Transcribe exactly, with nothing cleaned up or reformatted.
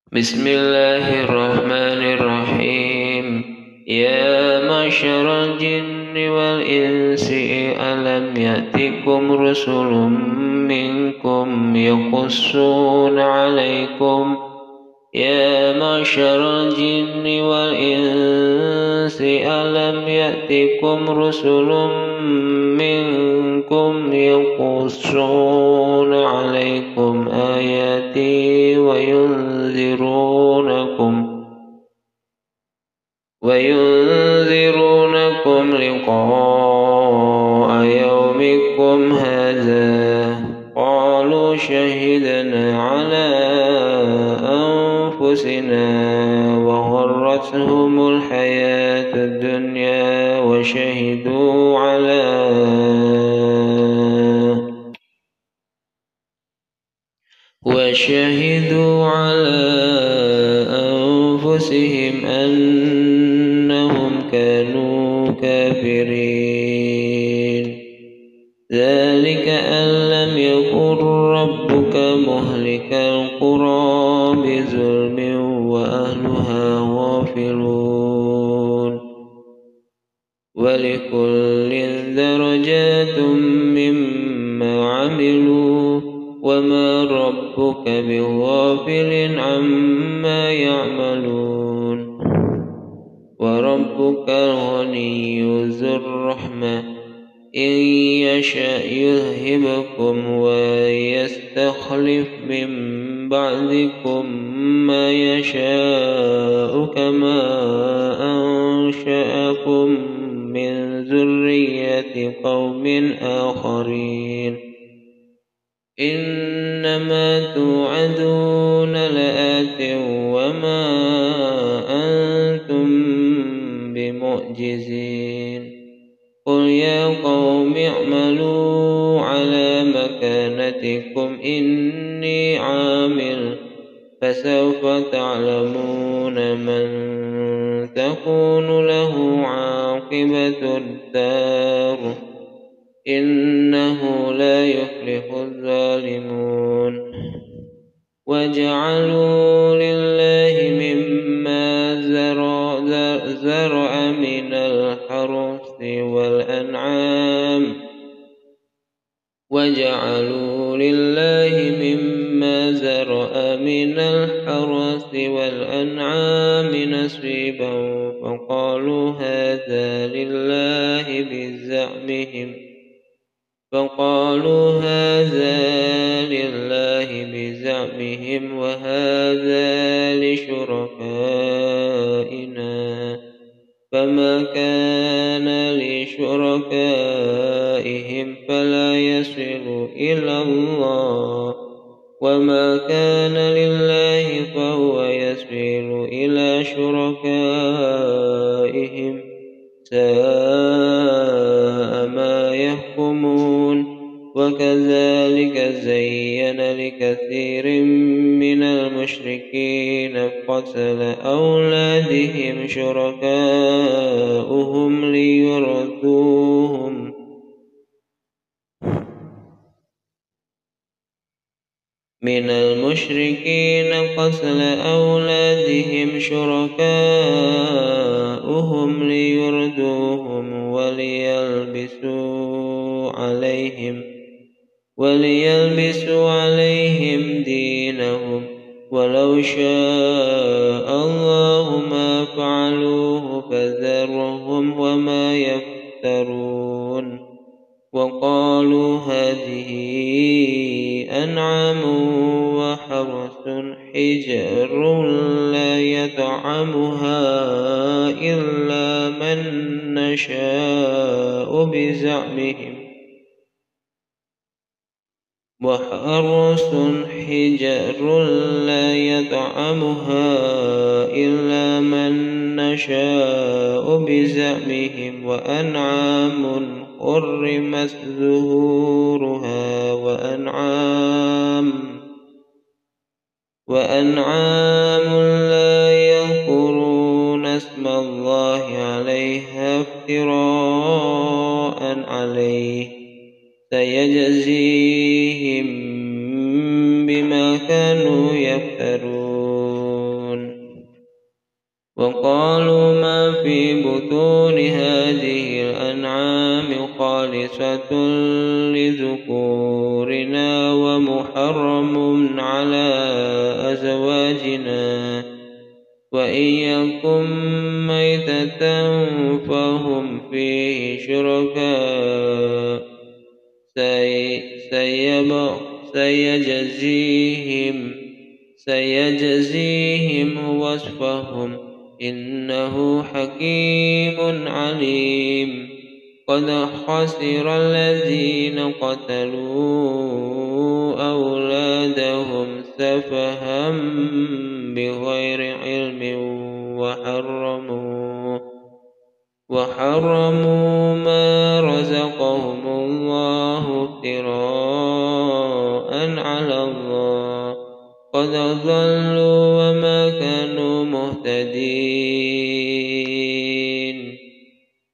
Bismillahirrahmanirrahim. Ya masyarul jinni wal insi alam ya'tikum rusulun minkum yaqussuna alaikum Ya masyarul jinni wal insi alam ya'tikum rusulun minkum yaqussuna alaikum ayati wa yunzirunakum wa yunzirunakum liqa'a yawmikum hadza qalu shahidna ala أنفسنا وغرتهم الحياة الدنيا وشهدوا على وشهدوا على أنفسهم أنهم كانوا كافرين ذلك أن لم يكن ربك مهلك القرى بظلم وأهلها غافلون ولكل درجات مما عملوا وما ربك بغافل عما يعملون وربك الغني ذو الرحمة إن يشأ يذهبكم ويستخلف من بعدكم ما يشاء كما أنشأكم من ذرية قوم آخرين إنما توعدون لآت وما أنتم بمعجزين قل يا قوم اعملوا على مكانتكم إني عامل فسوف تعلمون من تكون له عاقبة الدار إنه لا يفلح الظالمون وجعلوا لله مما زرع من الحرث والأنعام وجعلوا لله مما زرع من الحرث والأنعام نصيبا فقالوا هذا لله بزعمهم فقالوا هذا لله بزعمهم وهذا لشركائنا فما كان لشركائهم فلا يصل إلى الله وما كان لله فهو يصل إلى شركائهم ساء ما يحكمون وكذلك زين لكثير من المشركين قتل أولادهم شركاؤهم ليردوهم من المشركين قتل أولادهم شركاؤهم ليردوهم وليلبسوا عليهم وليلبسوا عليهم دينهم ولو شاء الله ما فعلوه فذرهم وما يفترون وقالوا هذه أنعام وحرث حجر لا يطعمها إلا من نشاء بزعمهم وحرث حجر لا يطعمها إلا من نشاء بزعمهم وأنعام حرمت ظهورها وأنعام وأنعام لا يذكرون اسم الله عليها افتراء عليه سيجزيهم بما كانوا يفترون وقالوا ما في بطون هذه الأنعام خالصة لذكورنا ومحرم على أزواجنا وإن يكن ميتة فهم فيه شركاء سيجزيهم سيجزيهم وصفهم إنه حكيم عليم قد خسر الذين قتلوا أولادهم سفها بغير علم وحرموا وحرموا ما رزقهم الله افتراء على الله قد ضلوا وما كانوا مهتدين